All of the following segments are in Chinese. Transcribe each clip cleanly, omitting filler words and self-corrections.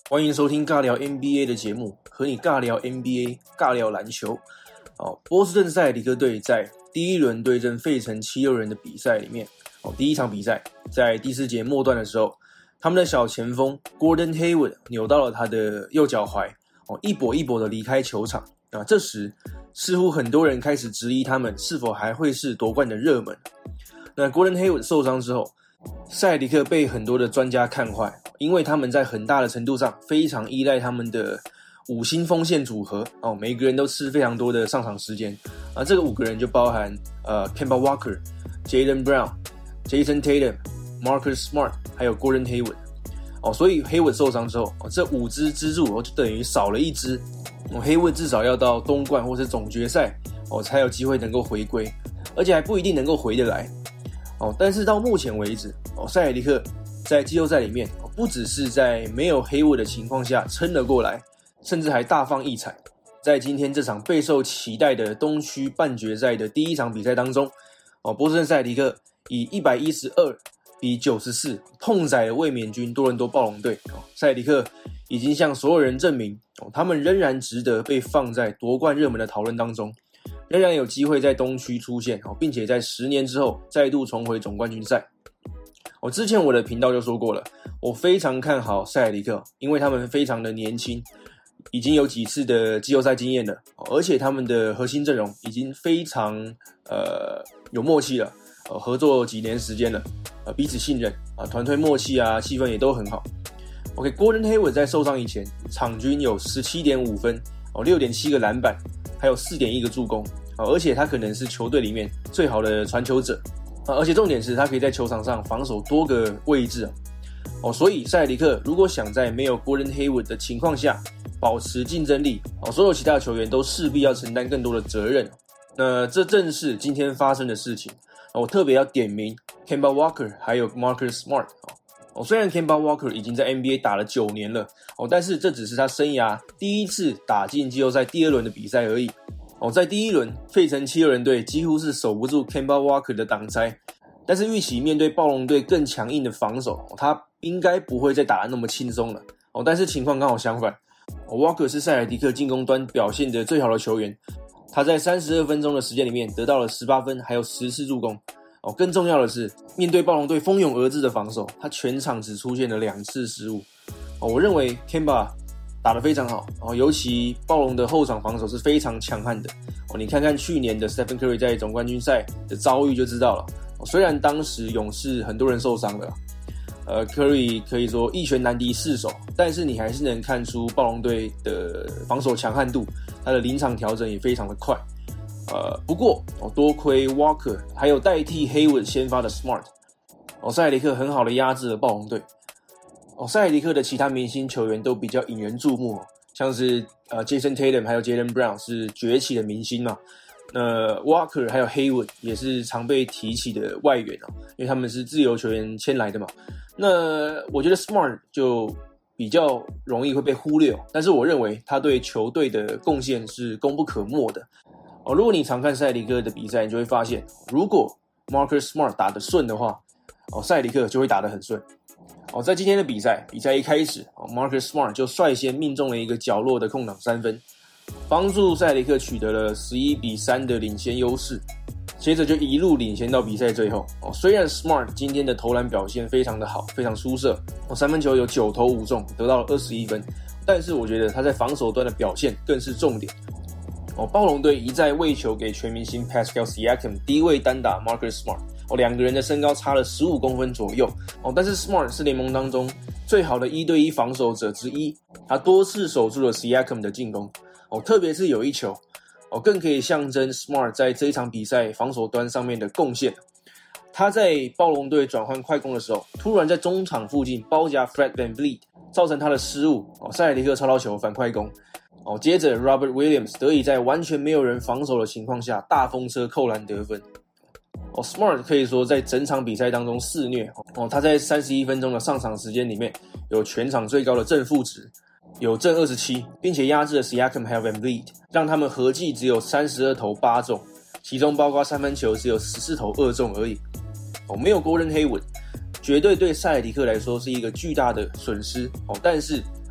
欢迎收听尬聊 NBA 的节目，和你尬聊 NBA， 尬聊篮球。波士顿塞尔提克队在第一轮对阵费城76人的比赛里面，第一场比赛在第4节末段的时候，他们的小前锋 Gordon Hayward 扭到了他的右脚踝，一跛一跛的离开球场。这时似乎很多人开始质疑他们是否还会是夺冠的热门。那 Gordon Hayward 受伤之后，塞尔提克被很多的专家看坏，因为他们在很大的程度上非常依赖他们的5星锋线组合，每个人都吃非常多的上场时间。这个5个人就包含Kemba Walker、Jaylen Brown、Jason Tatum、Marcus Smart 还有 Gordon Hayward。所以 Hayward 受伤之后，这5支支柱就等于少了1支。Hayward 至少要到东冠或是总决赛才有机会能够回归，而且还不一定能够回得来。但是到目前为止，塞尔提克在季后赛里面不只是在没有Hayward的情况下撑了过来，甚至还大放异彩。在今天这场备受期待的东区半决赛的第一场比赛当中，波士顿塞尔提克以112-94痛宰了卫冕军多伦多暴龙队。塞尔提克已经向所有人证明，他们仍然值得被放在夺冠热门的讨论当中，仍然有机会在东区出现，并且在10年之后再度重回总冠军赛。之前我的频道就说过了，我非常看好塞尔提克，因为他们非常的年轻，已经有几次的季后赛经验了，而且他们的核心阵容已经非常有默契了，合作几年时间了，彼此信任，团队默契气氛也都很好。Gordon Hayward 在受伤以前，场均有 17.5 分，6.7 个篮板，还有 4.1 个助攻，而且他可能是球队里面最好的传球者，而且重点是他可以在球场上防守多个位置。所以塞尔提克如果想在没有 Gordon Hayward 的情况下保持竞争力，所有其他球员都势必要承担更多的责任。那这正是今天发生的事情。我特别要点名 Kemba Walker 还有 Marcus Smart。虽然 Kemba Walker 已经在 NBA 打了9年了，但是这只是他生涯第一次打进季后赛第2轮的比赛而已。在第1轮，费城76人队几乎是守不住 Kemba Walker 的挡拆，但是预期面对暴龙队更强硬的防守，他应该不会再打得那么轻松了。但是情况刚好相反，Walker 是塞尔提克进攻端表现的最好的球员，他在32分钟的时间里面得到了18分，还有10次助攻。更重要的是，面对暴龙队蜂拥而至的防守，他全场只出现了2次失误。我认为 Kemba 打得非常好，尤其暴龙的后场防守是非常强悍的。你看看去年的 Stephen Curry 在总冠军赛的遭遇就知道了。虽然当时勇士很多人受伤了，Curry 可以说一拳难敌4手，但是你还是能看出暴龙队的防守强悍度，他的临场调整也非常的快。不过多亏 Walker 还有代替 Hayward 先发的 Smart，塞尔提克很好的压制了暴龙队。塞尔提克的其他明星球员都比较引人注目，像是Jason Tatum 还有 Jaylen Brown 是崛起的明星嘛。Walker 还有 Hayward 也是常被提起的外援，因为他们是自由球员签来的嘛。那我觉得 Smart 就比较容易会被忽略，但是我认为他对球队的贡献是功不可没的。如果你常看塞尔提克的比赛，你就会发现，如果 Marcus Smart 打得顺的话，塞尔提克就会打得很顺。在今天的比赛一开始，Marcus Smart 就率先命中了一个角落的空档3分，帮助塞尔提克取得了11-3的领先优势，接着就一路领先到比赛最后。虽然 Smart 今天的投篮表现非常的好，非常出色，3分球有9投5中，得到了21分，但是我觉得他在防守端的表现更是重点。暴龙队一再喂球给全明星 Pascal Siakam 低位单打 Marcus Smart， 2个人的身高差了15公分左右，但是 Smart 是联盟当中最好的1对1防守者之一，他多次守住了 Siakam 的进攻，特别是有一球更可以象征 Smart 在这一场比赛防守端上面的贡献。他在暴龙队转换快攻的时候，突然在中场附近包夹 Fred VanVleet， 造成他的失误，塞尔提克抄到球反快攻，接着 Robert Williams 得以在完全没有人防守的情况下大风车扣篮得分。Smart 可以说在整场比赛当中肆虐，他在31分钟的上场时间里面有全场最高的正负值，有正27，并且压制了 Siakam 还有 VanVleet， 让他们合计只有32投8中，其中包括3分球只有14投2中而已。没有 Gordon Hayward， 绝对对塞尔提克来说是一个巨大的损失，但是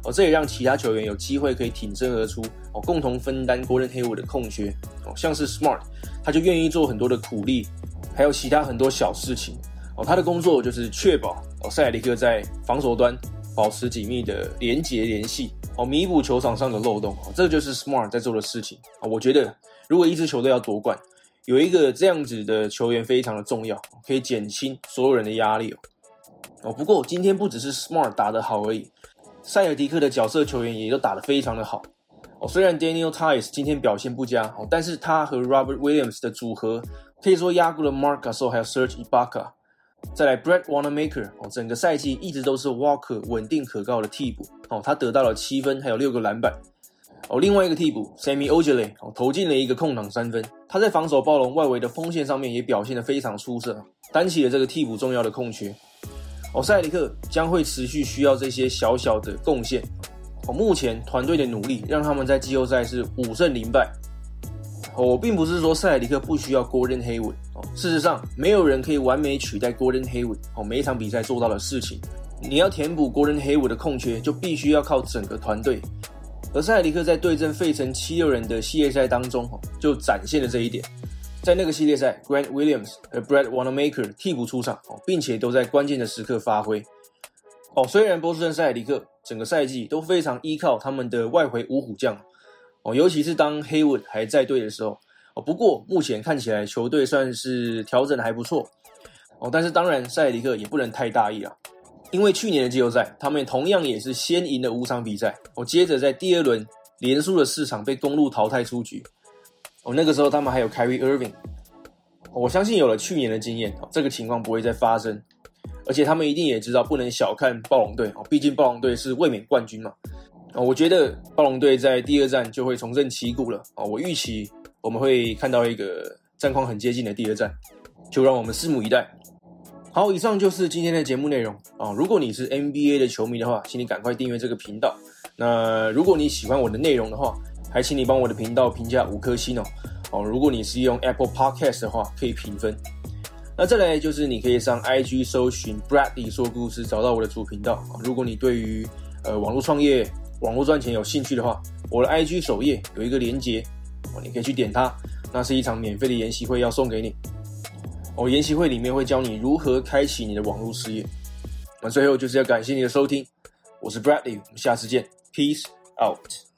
这也让其他球员有机会可以挺身而出共同分担 Gordon Hayward 的空缺像是 Smart 他就愿意做很多的苦力，还有其他很多小事情他的工作就是确保塞尔提克在防守端保持紧密的连结联系弥补球场上的漏洞这就是 Smart 在做的事情我觉得如果一支球队要夺冠，有一个这样子的球员非常的重要，可以减轻所有人的压力不过今天不只是 Smart 打得好而已，塞尔提克的角色球员也都打得非常的好虽然 Daniel Theis 今天表现不佳但是他和 Robert Williams 的组合可以说压过了 Marc Gasol 还有 Serge Ibaka。再来 Brad Wanamaker 整个赛季一直都是 Walker 稳定可靠的替补他得到了7分还有6个篮板另外一个替补 Semi Ojeleye 投进了一个空档3分，他在防守暴龙外围的锋线上面也表现得非常出色，担起了这个替补重要的空缺塞尔提克将会持续需要这些小小的贡献目前团队的努力让他们在季后赛是5胜0败我并不是说塞尔提克不需要 Gordon Hayward事实上没有人可以完美取代 Gordon Hayward 每一场比赛做到的事情，你要填补 Gordon Hayward 的空缺就必须要靠整个团队，而塞尔提克在对阵费城76人的系列赛当中就展现了这一点，在那个系列赛 Grant Williams 和 Brad Wanamaker 替补出场并且都在关键的时刻发挥虽然波士顿塞尔提克整个赛季都非常依靠他们的外回五虎将尤其是当 Hayward 还在队的时候不过目前看起来球队算是调整的还不错但是当然塞尔提克也不能太大意啦，因为去年的季后赛他们同样也是先赢了5场比赛接着在第2轮连输了4场被公鹿淘汰出局那个时候他们还有 Kyrie Irving 我相信有了去年的经验这个情况不会再发生，而且他们一定也知道不能小看暴龙队毕竟暴龙队是卫冕冠军嘛我觉得暴龙队在第2战就会重振旗鼓了我预期我们会看到一个战况很接近的第2战，就让我们拭目以待。好，以上就是今天的节目内容如果你是 NBA 的球迷的话，请你赶快订阅这个频道。那如果你喜欢我的内容的话，还请你帮我的频道评价5颗星如果你是用 Apple Podcast 的话，可以评分。那再来就是你可以上 IG 搜寻 Bradley 说故事，找到我的主频道如果你对于网络创业、网络赚钱有兴趣的话，我的 IG 首页有一个连结你可以去点它，那是一场免费的研习会要送给你研习会里面会教你如何开启你的网络事业。那最后就是要感谢你的收听，我是 Bradley， 我们下次见 ，Peace out。